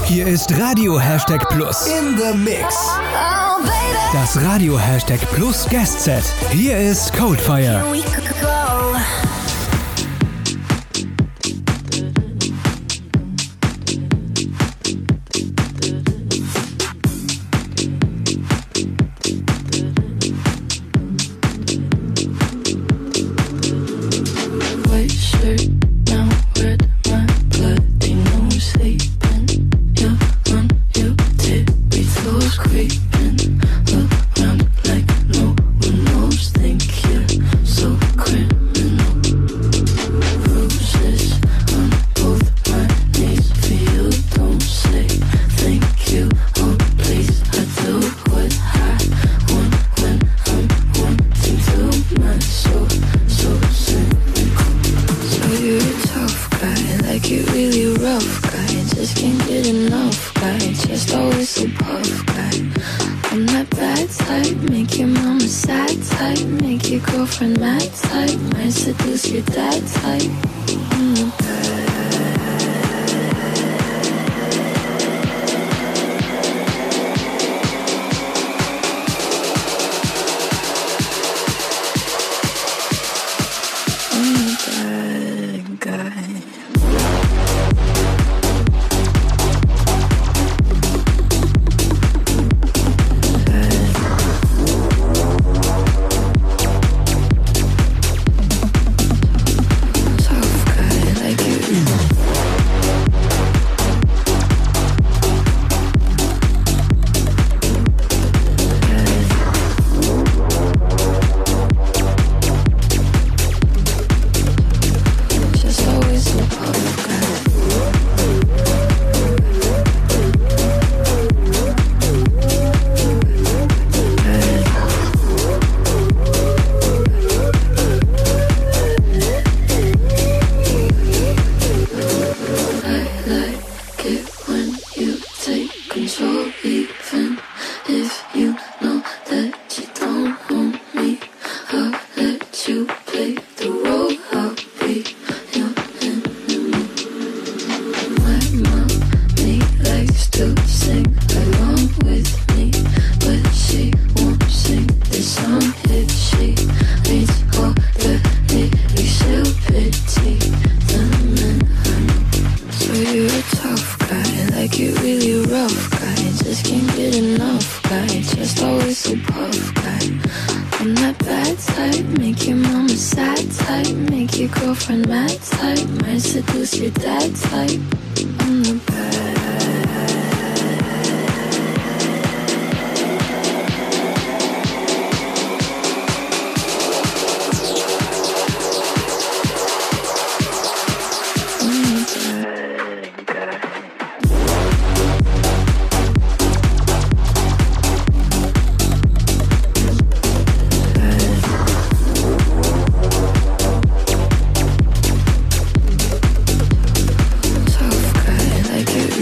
Hier ist Radio Hashtag Plus in the Mix. Das Radio Hashtag Plus Guest Set. Hier ist Coldfire. Like you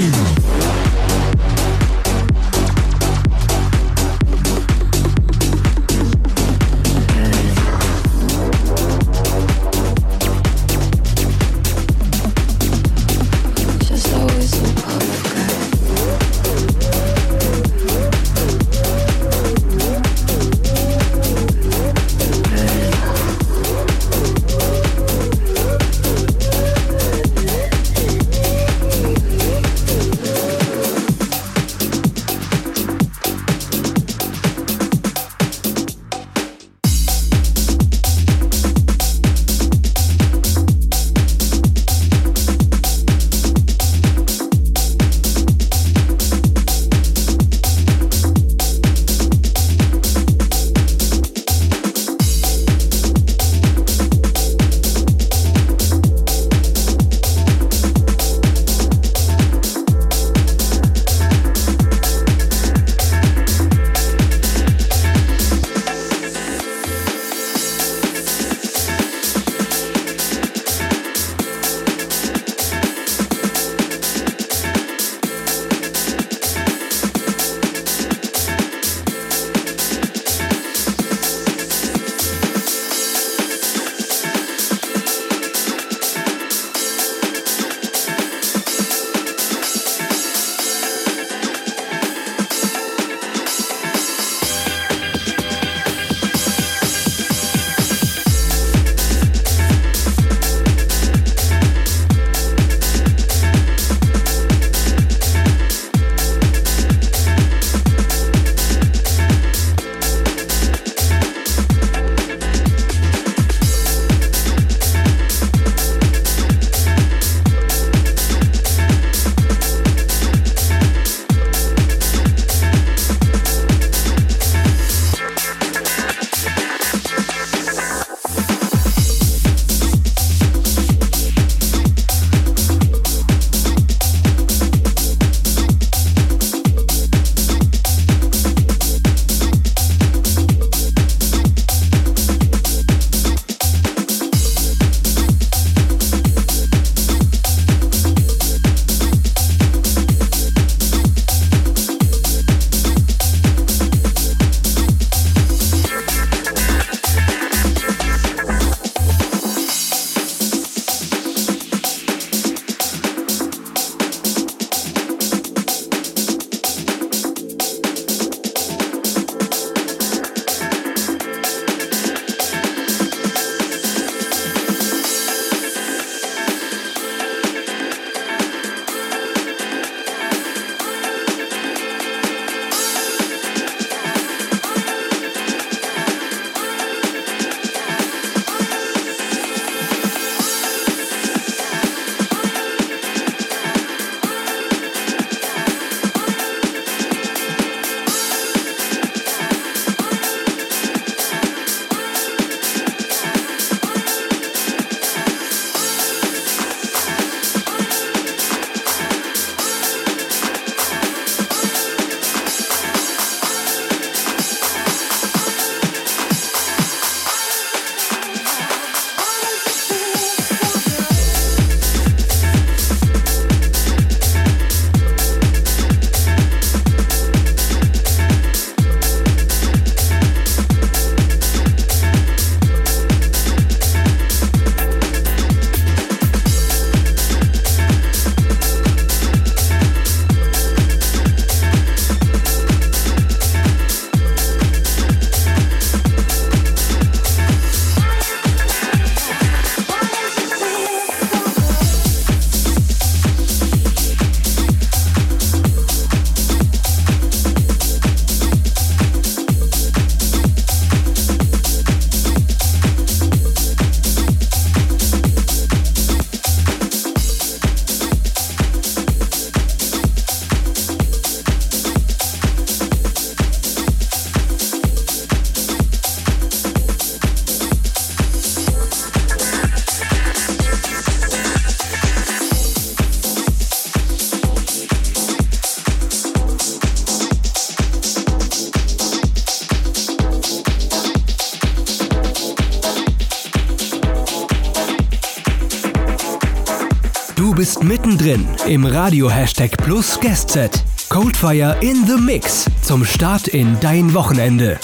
mittendrin im Radio-Hashtag Plus Guest-Set. Coldfire in the Mix zum Start in dein Wochenende.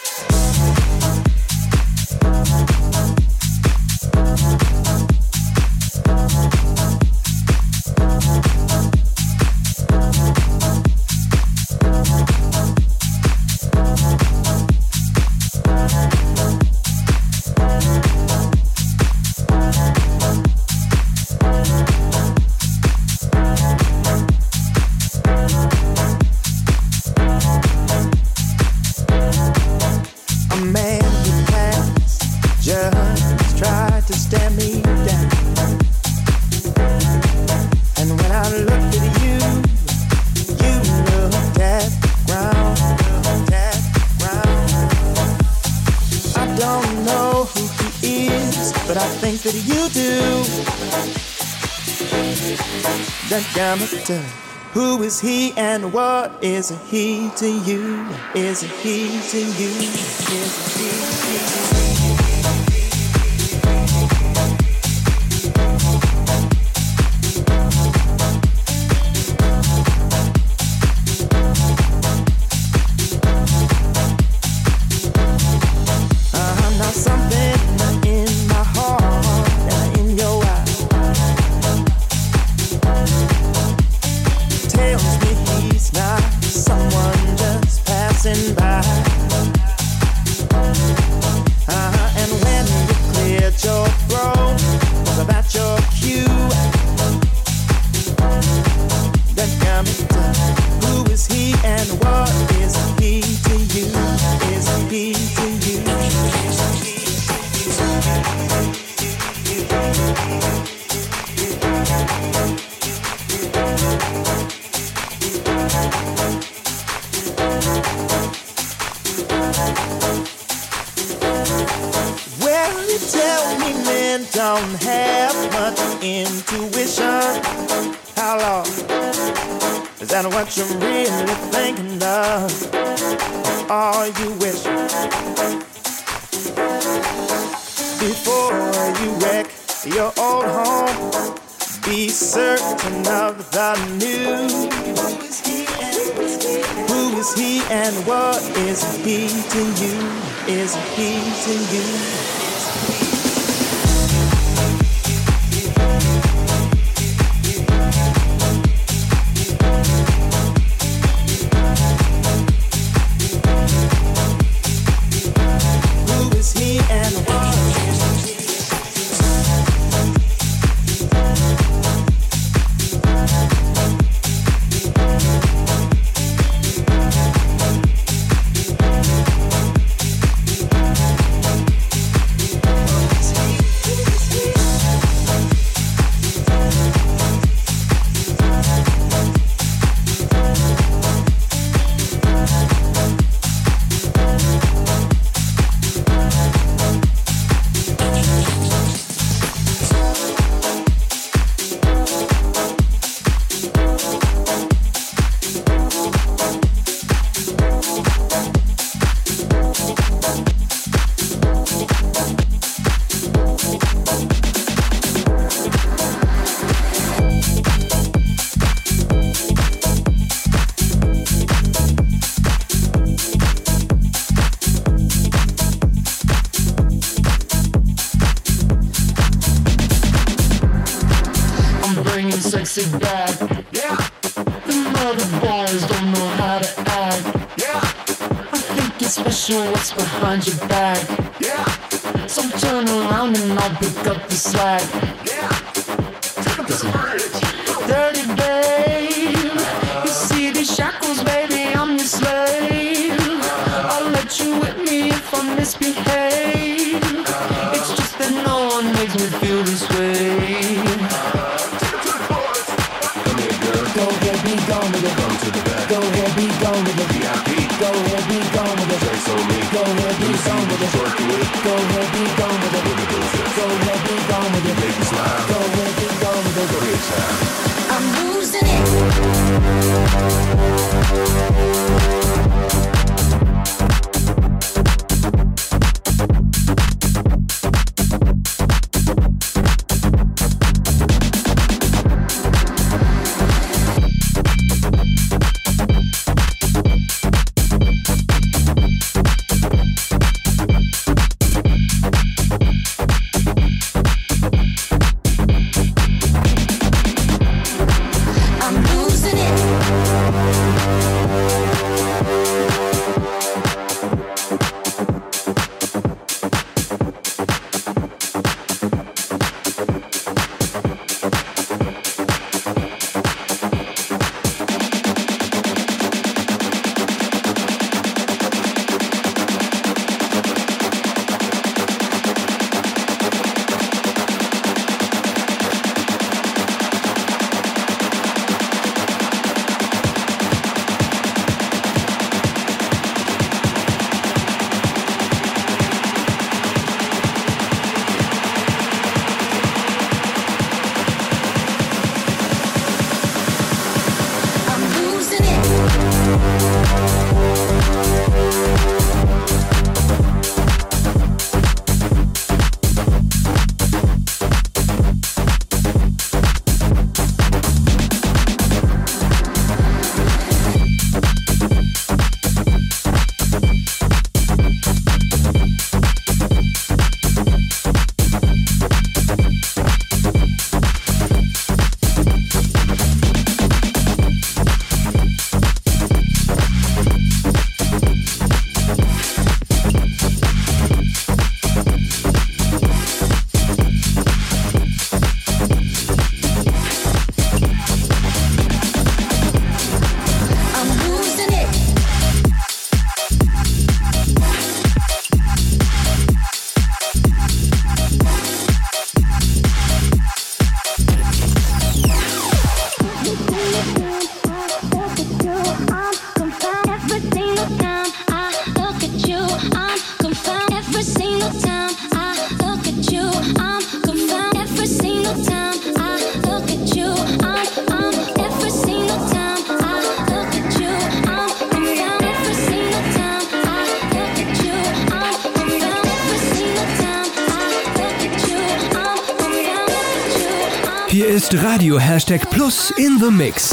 Who is he and what is he to you? Is he to you? Is he to you? What's behind your back? Yeah. So turn around and I'll pick up the slack. Yeah. Take up the bridge. Dirty babe, you see these shackles, baby, I'm your slave. I'll let you whip me if I misbehave. It's just that no one makes me feel this way. Come here, girl. Go ahead, be gone with it. Come to the back. Go ahead, be gone with it. VIP. Go ahead, be gone with it. Drinks on me. Go ahead, be gone with it. Go ahead, be gone with it. Go ahead, be gone with it. Make me smile. Go ahead, be gone with it. Go ahead, child. I'm losing it. Hier ist Radio #Plus in the Mix.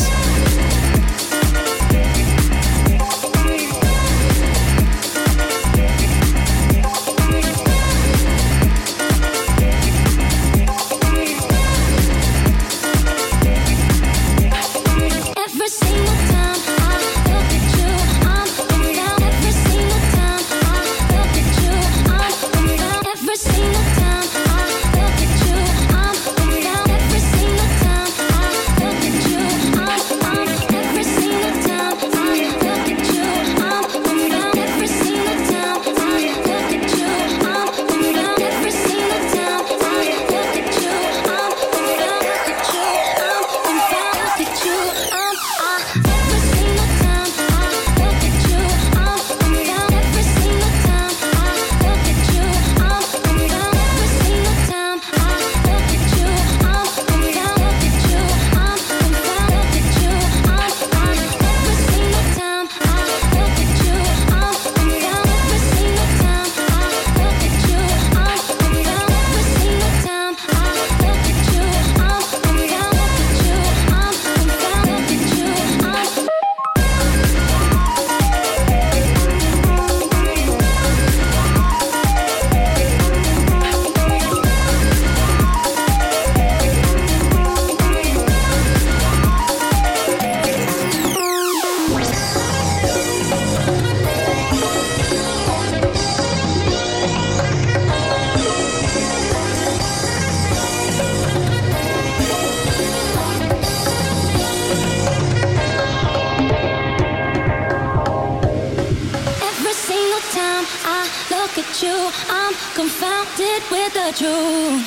I'm confounded with the truth.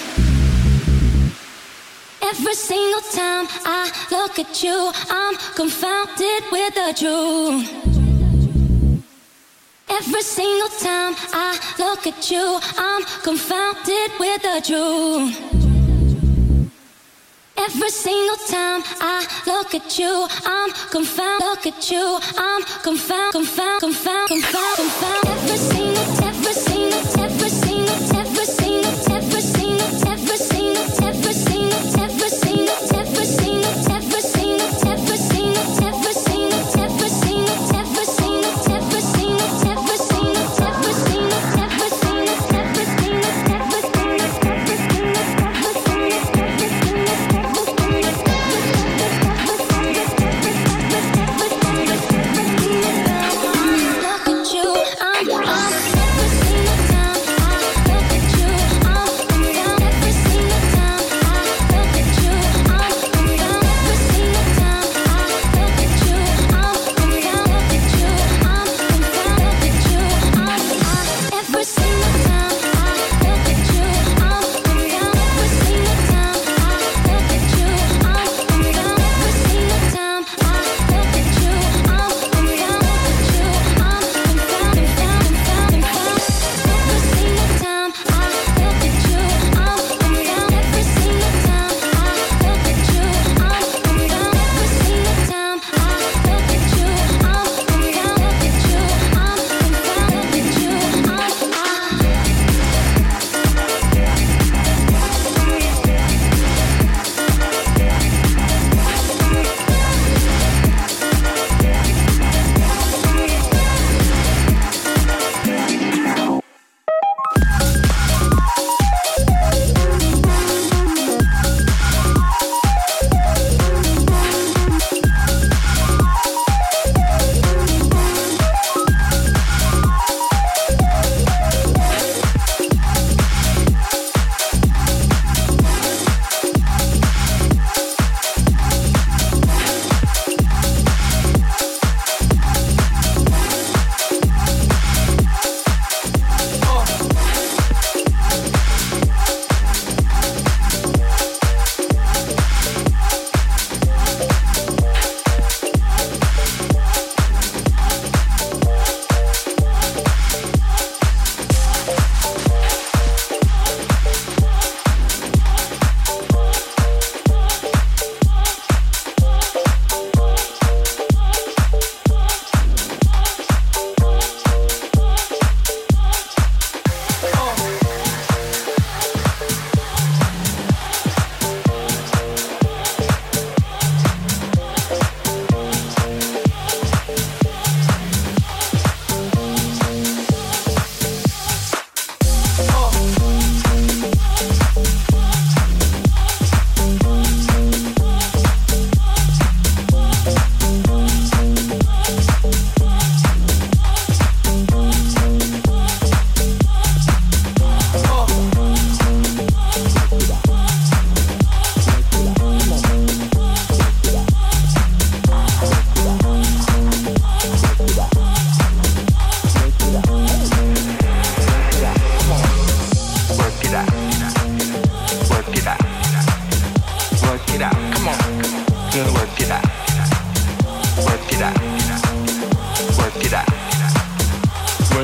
Every single time I look at you, I'm confounded with the truth. Every single time I look at you, I'm confounded with the truth. Every single time I look at you, I'm confounded. Look at you, I'm confounded. Every single time. I'm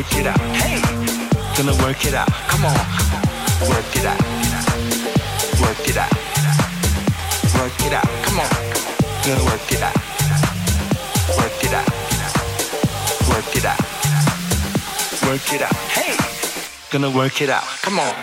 work it out. Hey, gonna work it out. Come on, work it out. Work it out. Work it out. Come on, gonna work it out. Work it out. Work it out. Work it out. Hey, gonna work it out. Come on.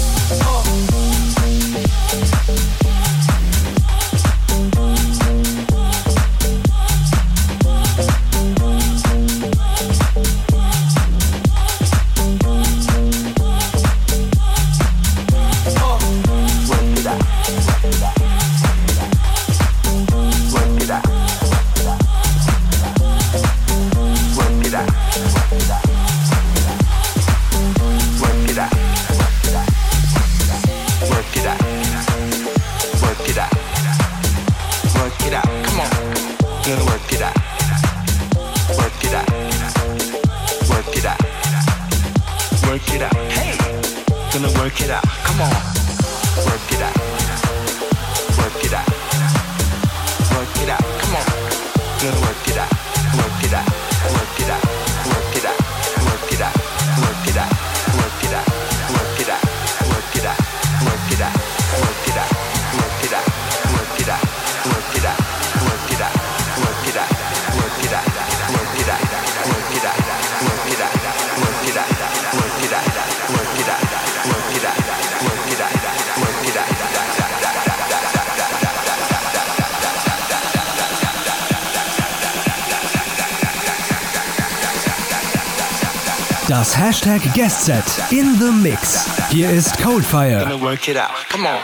Das Hashtag Guest Set in the Mix. Hier ist Coldfire. Gonna work it out. Come on.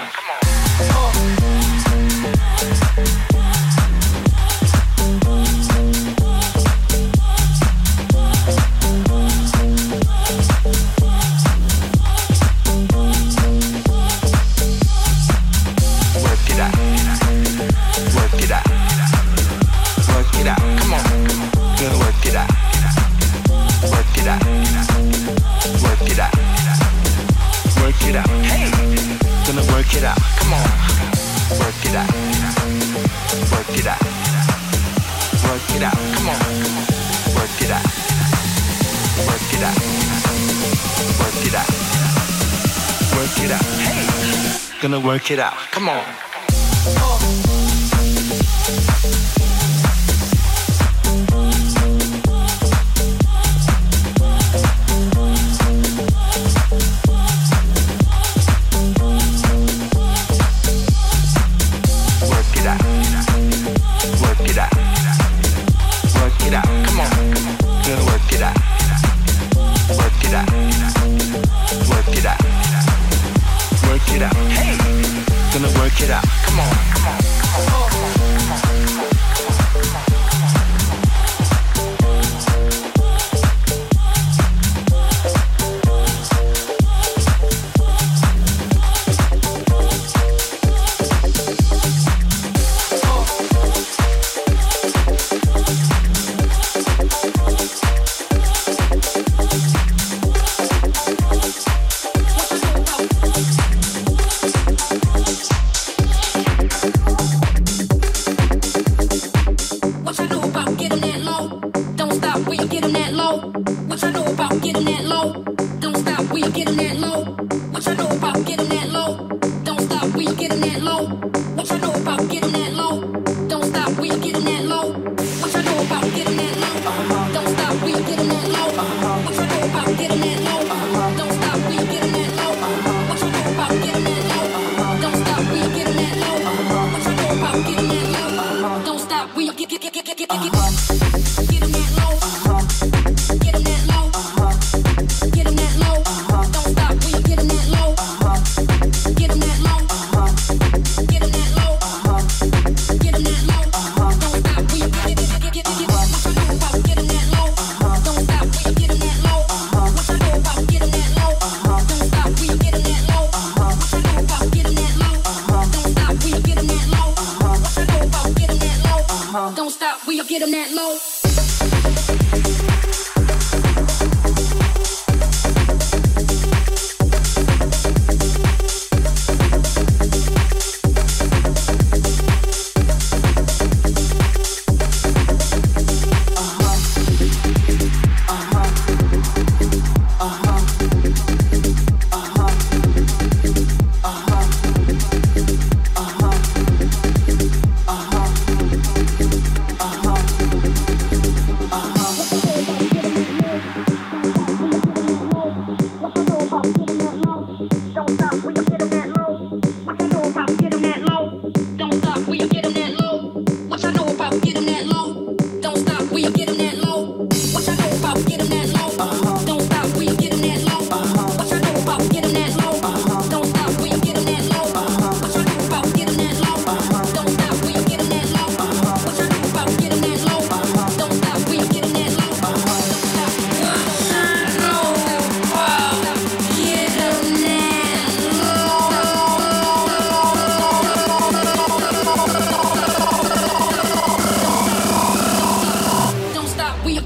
Gonna work it out. Come on.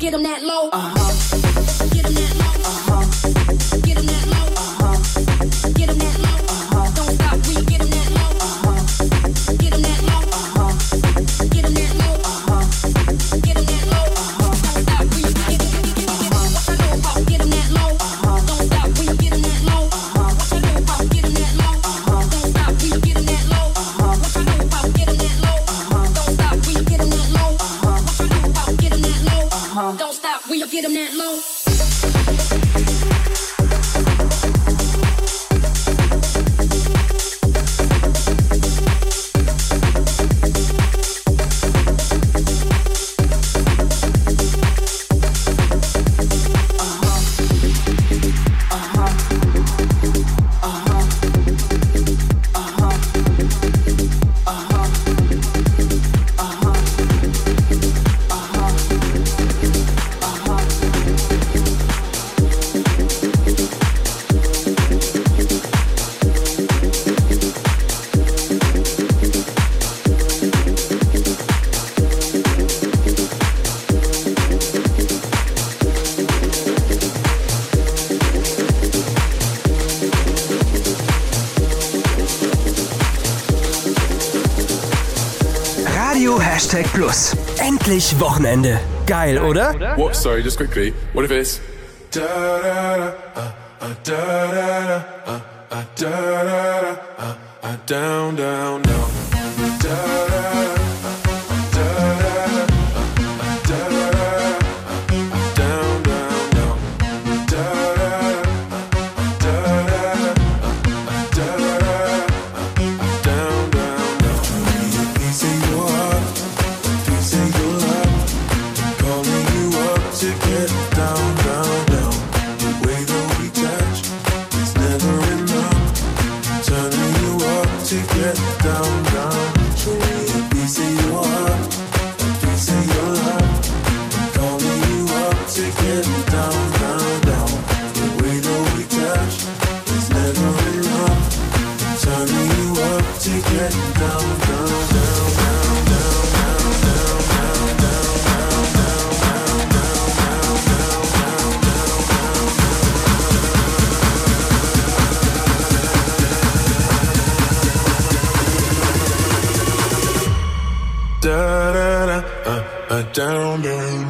get them that low. Get them that low. Get them that low. Get them that low. Don't stop when you get them that low. Get them that low. Get them that low. Get them that low. Don't stop when you get them. What I know about get them that low. Don't stop when you get them that low. What I know about get them that low. Don't stop when you get them that low. What I know about get them that low. Don't stop when you get them that low. What I know about get them that low. Don't stop when you get them that low. Plus. Endlich Wochenende. Geil, oder? What? Sorry, just quickly. What if it's da da da da da da da da down down down da da. Down, down.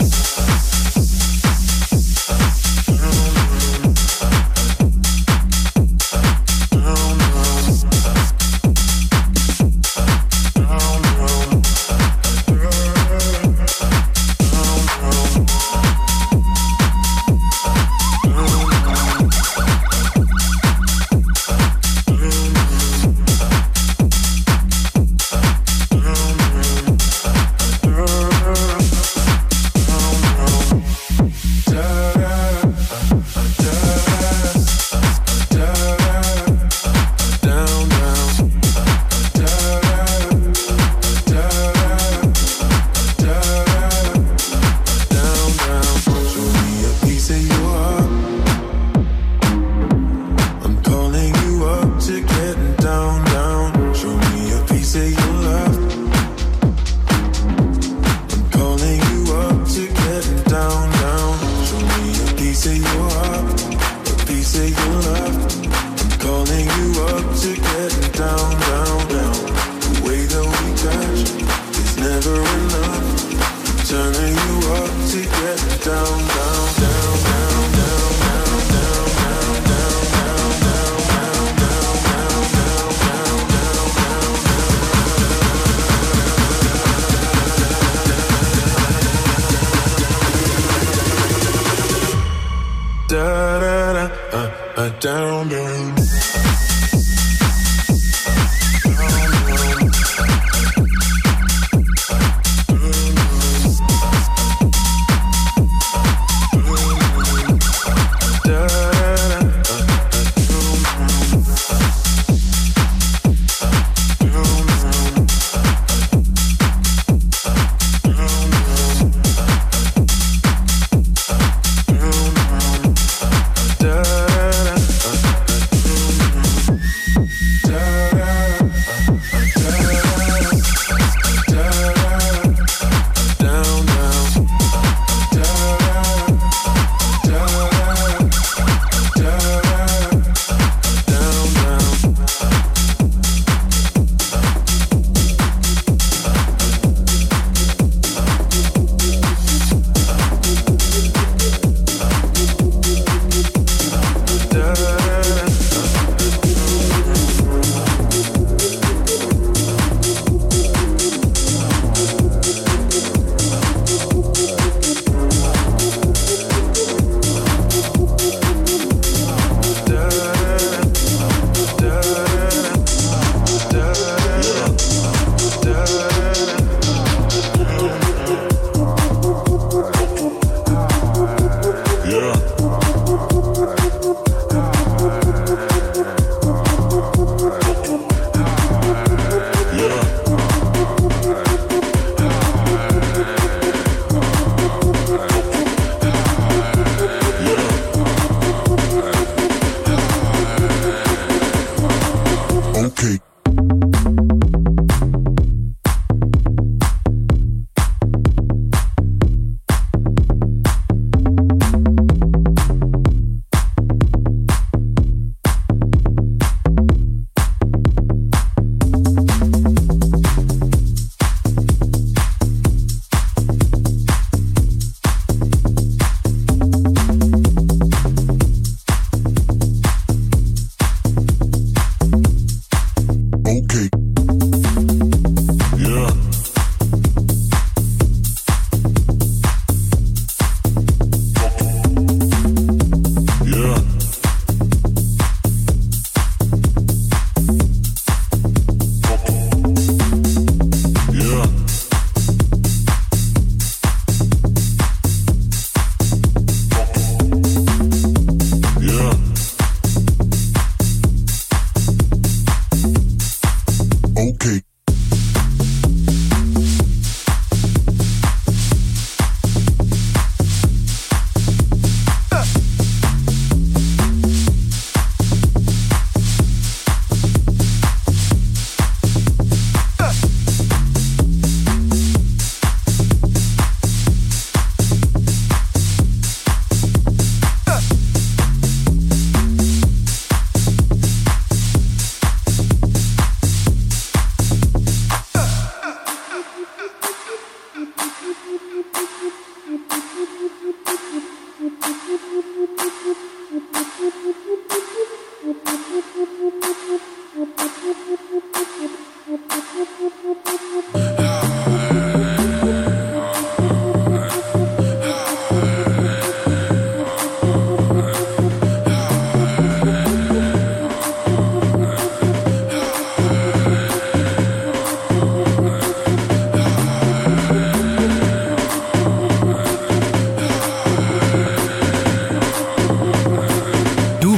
Down, down.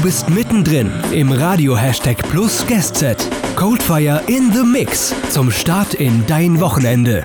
bist mittendrin im Radio Hashtag Plus Guest-Set. Coldfire in the Mix zum Start in dein Wochenende.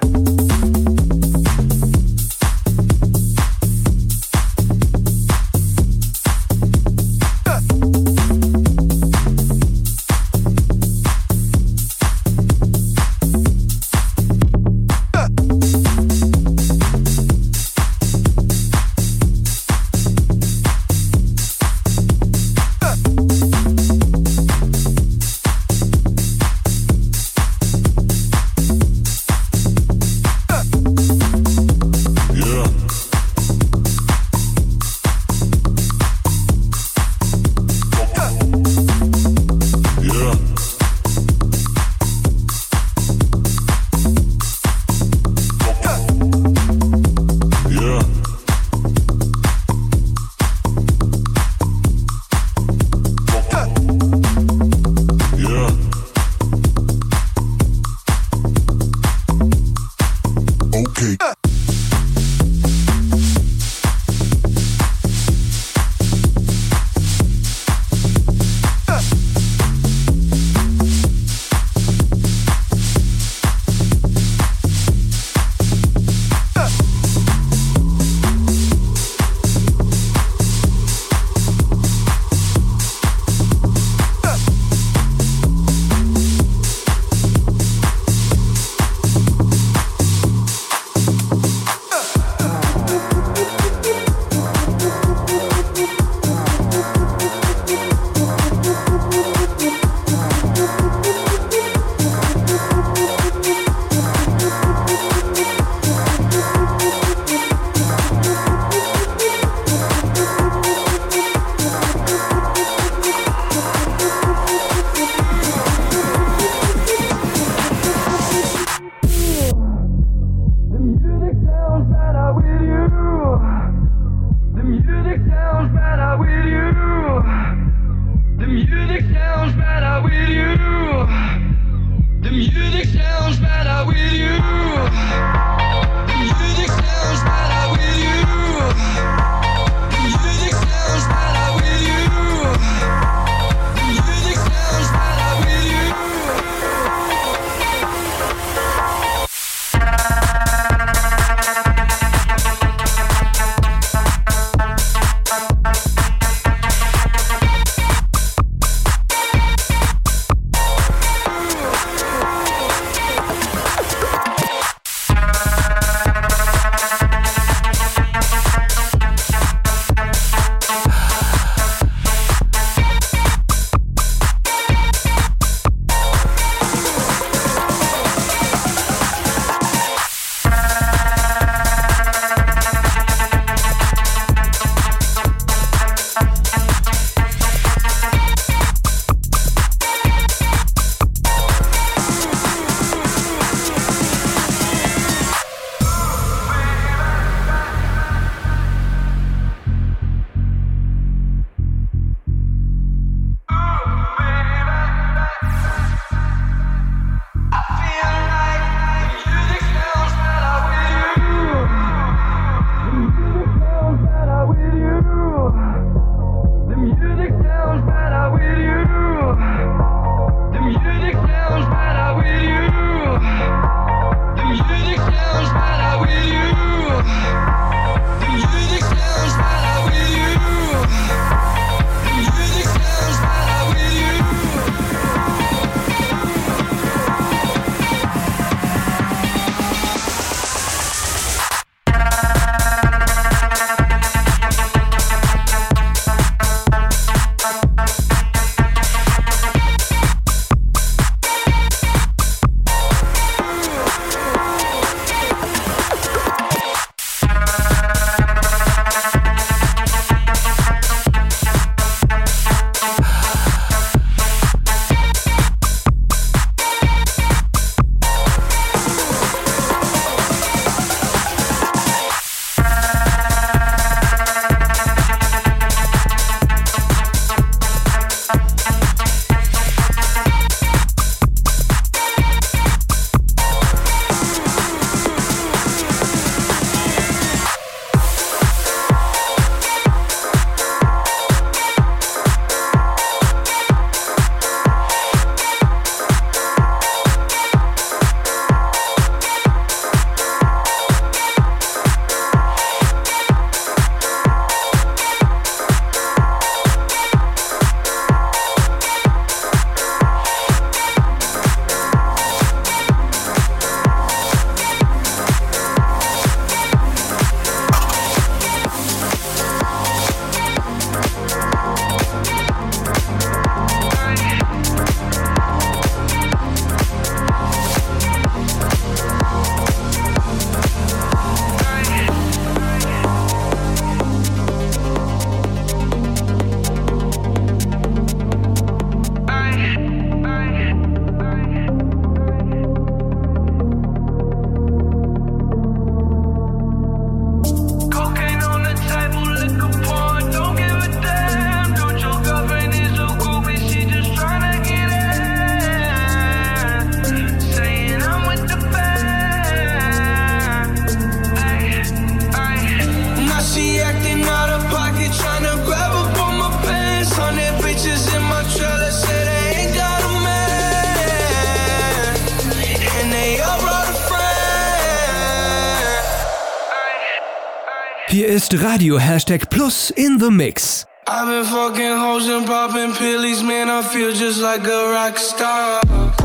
Hier ist Radio #Plus in the Mix. I've been fucking hoes and popping pillies, man, I feel just like a rock star.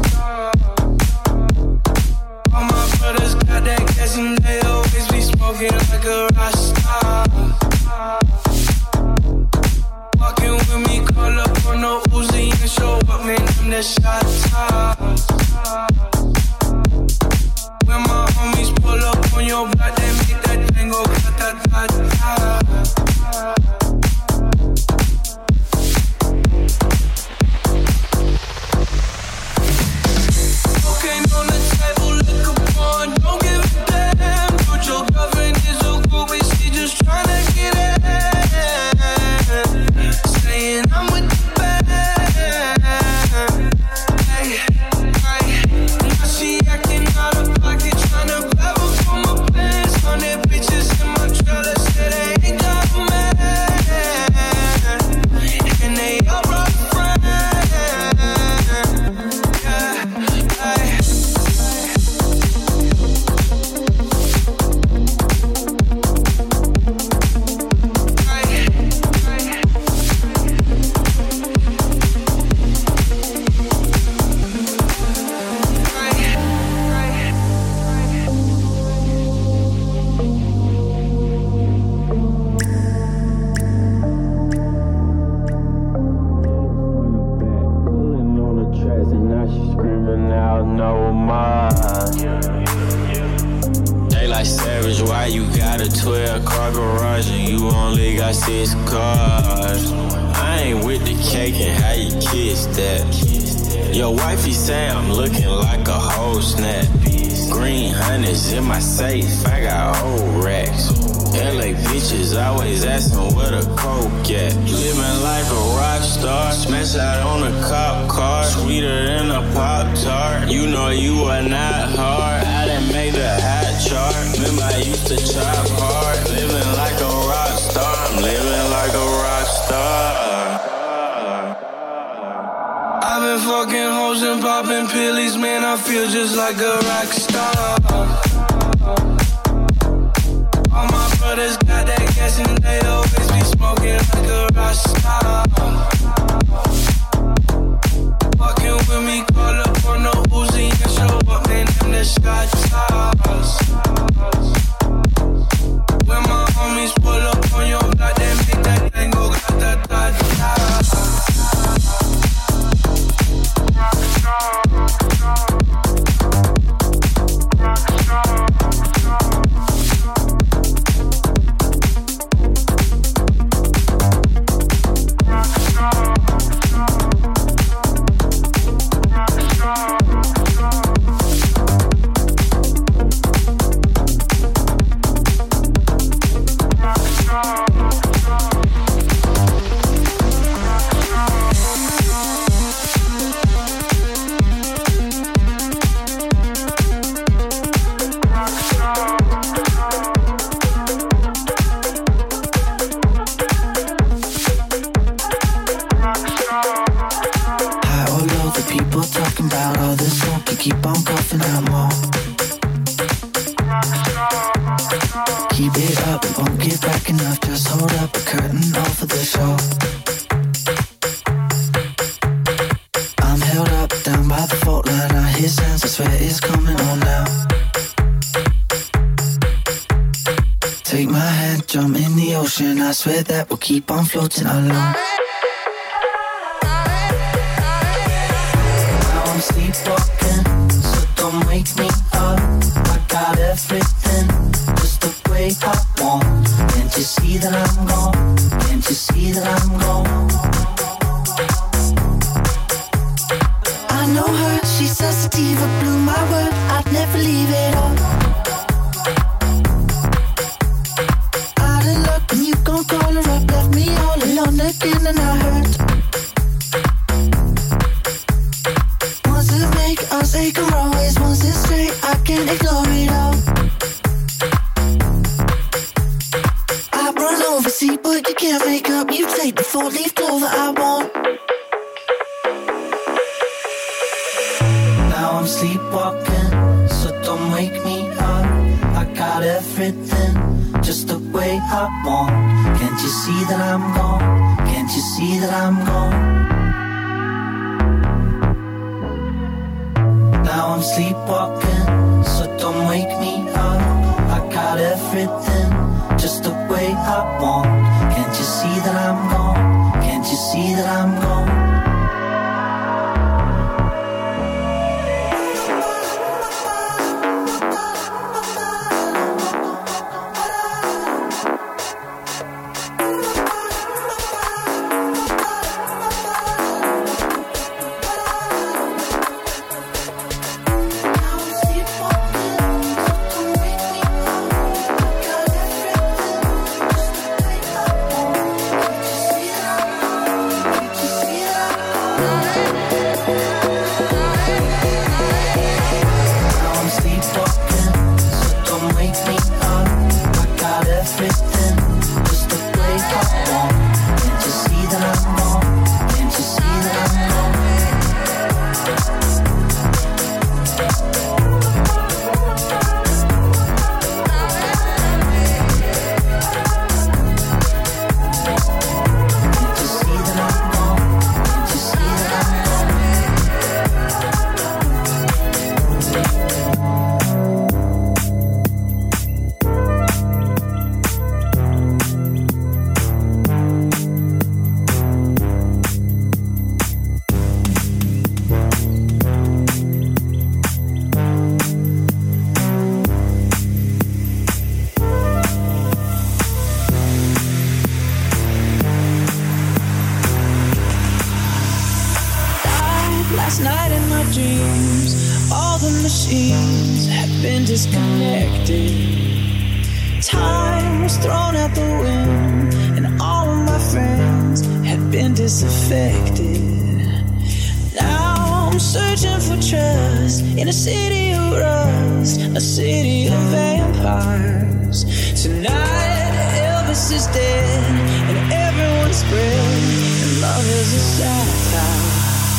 All my brothers got that gas and they always be smoking like a rock star. Walking with me, call up on no Uzi and show up, man, I'm the shot toss. When my homies pull up on your block, they make that thing go ta-ta-ta-ta. Cocaine on the table, liquor porn, don't give a damn. Put your girlfriend is a groupie, she just tryna get in. Saying I'm with the band. Hey, hey. Now she acting out of pocket, tryna grab her from my pants. 100 bitches in my trailer, said they ain't got a man. And they all brought friends. Car garage and you only got 6 cars. I ain't with the cake and how you kiss that. Your wifey say I'm looking like a whole snap. Green hundreds in my safe, I got old racks. LA bitches always asking where the coke at. Living like a rock star, smash out on a cop car. Sweeter than a Pop-Tart, you know you are not hard. I done made the hot chart, remember I used to chop hard. Living like a rock star, I'm living like a rock star. I've been fucking hoes and popping pillies, man, I feel just like a rock star. All my brothers got that gas and they always be smoking like a rock star. Walking with me, call up on no Uzi and show up, man, them the shot toss. When my homies pull up on your block, they make that thing go ta-ta-ta-ta. Keep on coughing out more. Keep it up, it won't get back enough. Just hold up a curtain off of the show. I'm held up down by the fault line. I hear sounds, I swear it's coming on now. Take my hand, jump in the ocean. I swear that we'll keep on floating alone. Now I'm sleepwalking, so don't wake me up. I got everything just the way I want. Can't you see that I'm gone? Can't you see that I'm gone? I know her, she's sensitive, it blew my word. I'd never leave it all. Out of luck when you gon' call her up. Left me all alone again and I hurt. Once it make us take a always. Once it's straight, I can't ignore it all. I run over, see, but you can't make up. You take the 4-leaf clover I want. Now I'm sleepwalking, so don't wake me up. I got everything just the way I want. Can't you see that I'm gone? Can't you see that I'm gone? Now I'm sleepwalking, so don't wake me up. I got everything just the way I want. Can't you see that I'm gone? Can't you see that I'm gone? Last night in my dreams, all the machines had been disconnected. Time was thrown out the wind, and all of my friends had been disaffected. Now I'm searching for trust in a city of rust, a city of vampires. Tonight Elvis is dead, and everyone's spread, and love is a satire.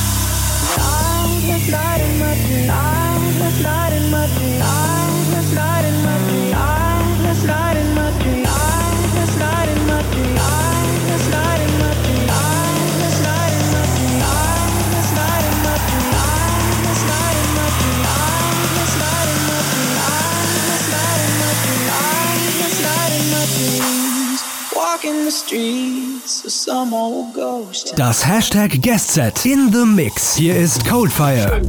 Last night in my dream, last night in my dream, last night in my dream, last night in my dream, last night in my dream, last night in my dream, last night in my dream, last night in my dream, last night in my dream, last night in my dream, last night in my dream, last night in my dreams, walking the streets of some old ghost. Das Hashtag Guest Set in the Mix. Hier ist Coldfire.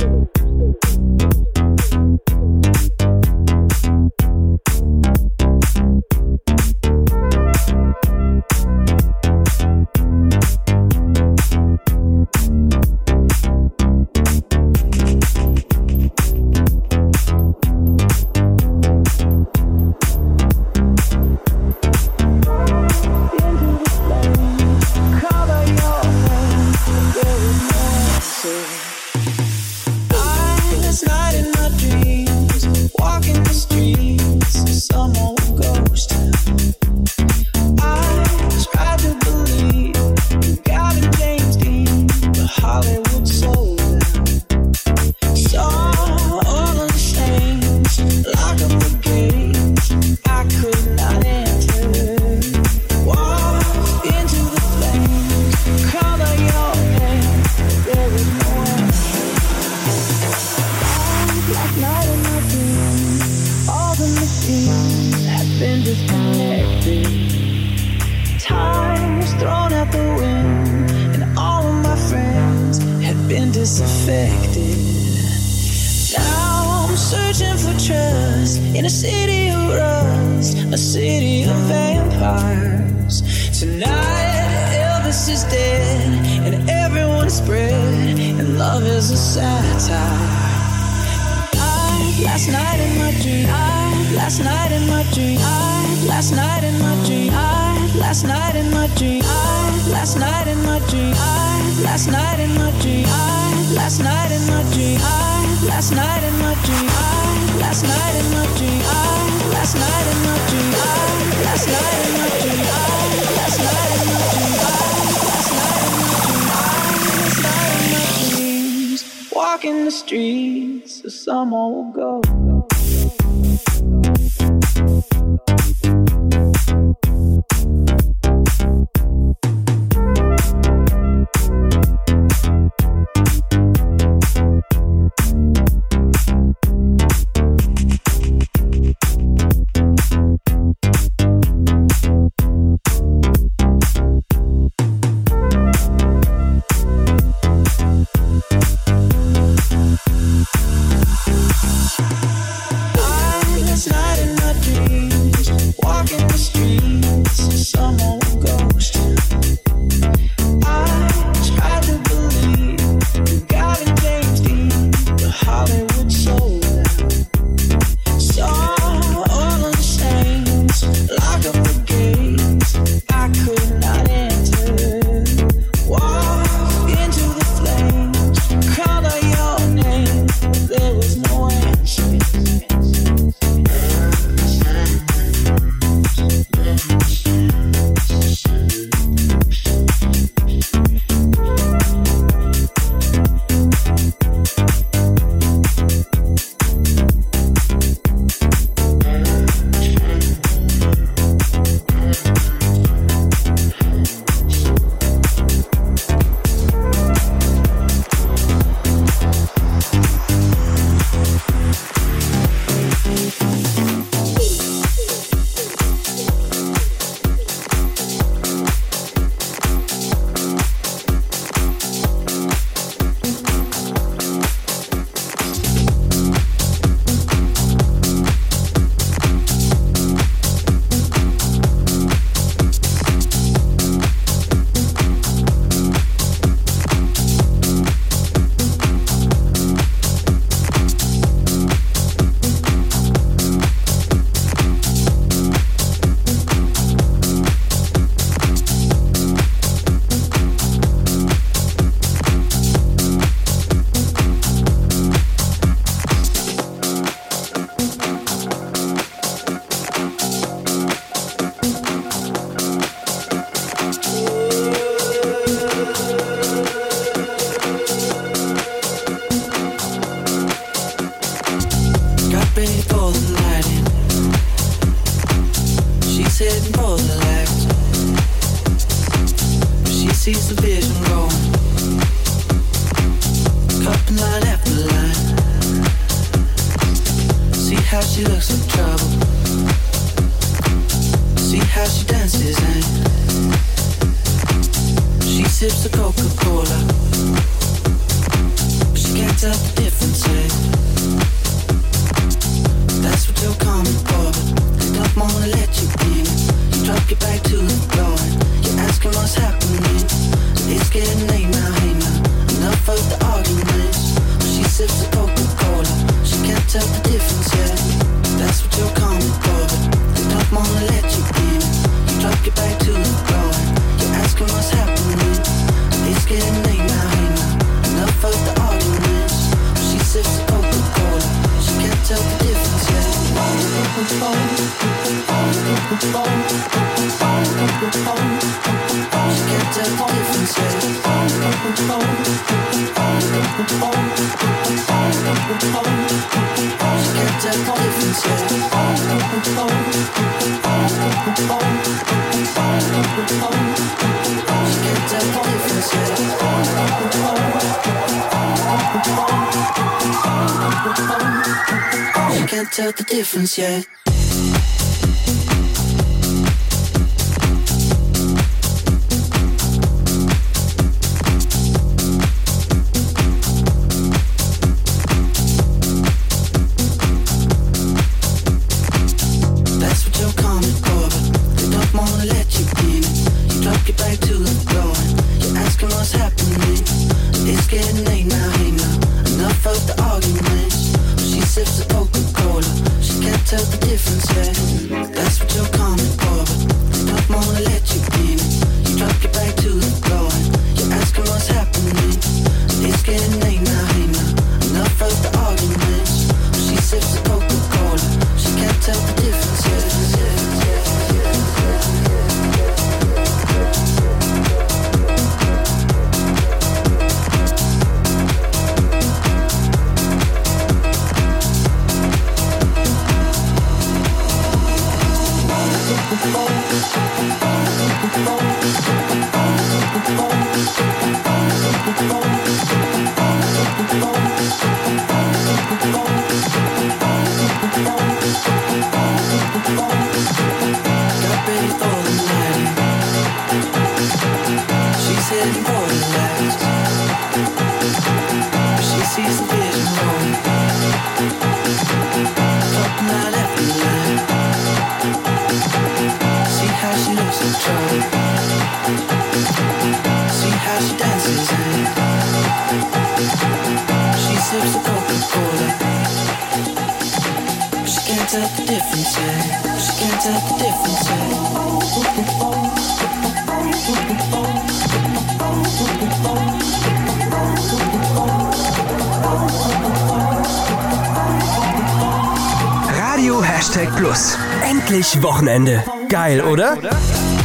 Walking the streets of some old ghost. the legs. She sees the vision going, cupping line after line. See how she looks in trouble. See how she dances and she sips the Coca-Cola, but she can't tell the difference, eh? That's what you're coming for, but they don't wanna let you in. You drop your back to the floor and you're asking what's happening. It's getting late now, hey now, enough of the arguments. She sips the Coca-Cola, she can't tell the difference, yeah. That's what you're coming for, but they don't wanna let you in. You drop your back to the floor and you're asking what's happening. It's getting late now, hey now, enough of the arguments. She sips the Coca-Cola, she can't tell the difference, yeah. She can't tell the difference, yeah. She can't tell the difference, yeah. She can't tell the difference, yeah. She can't tell the difference, yeah. Radio #Plus. Endlich Wochenende. Geil, oder?